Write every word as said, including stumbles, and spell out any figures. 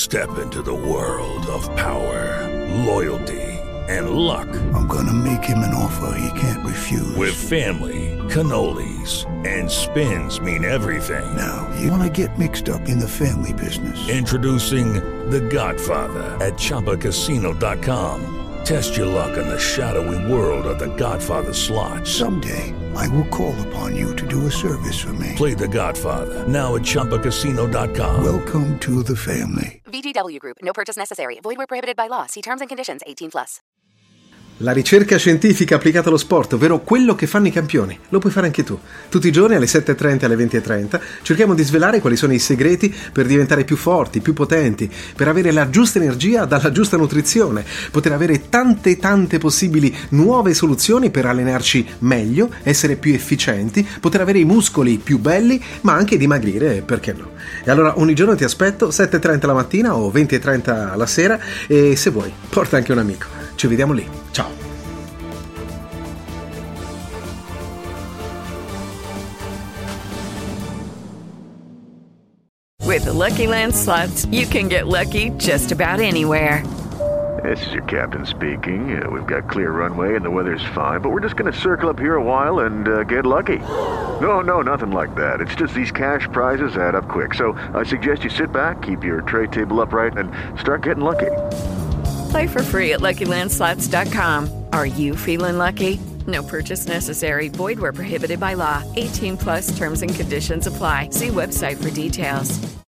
Step into the world of power, loyalty, and luck. I'm gonna make him an offer he can't refuse. With family, cannolis, and spins mean everything. Now, you wanna get mixed up in the family business. Introducing The Godfather at Chumba Casino dot com. Test your luck in the shadowy world of The Godfather slot. Someday, I will call upon you to do a service for me. Play The Godfather, now at Chumba Casino dot com. Welcome to the family. V G W Group. No purchase necessary. Void where prohibited by law. See terms and conditions. eighteen plus. La ricerca scientifica applicata allo sport, ovvero quello che fanno i campioni, lo puoi fare anche tu. Tutti i giorni alle sette e trenta e alle venti e trenta cerchiamo di svelare quali sono i segreti per diventare più forti, più potenti, per avere la giusta energia dalla giusta nutrizione, poter avere tante tante possibili nuove soluzioni per allenarci meglio, essere più efficienti, poter avere i muscoli più belli, ma anche dimagrire, perché no? E allora ogni giorno ti aspetto, sette e trenta la mattina o venti e trenta la sera, e se vuoi porta anche un amico. Ci vediamo lì. Ciao. With the Lucky Land Slots, you can get lucky just about anywhere. This is your captain speaking. Uh, we've got clear runway and the weather's fine, but we're just going to circle up here a while and uh, get lucky. No, no, nothing like that. It's just these cash prizes add up quick. So I suggest you sit back, keep your tray table upright, and start getting lucky. Play for free at Lucky Land Slots dot com. Are you feeling lucky? No purchase necessary. Void where prohibited by law. eighteen plus terms and conditions apply. See website for details.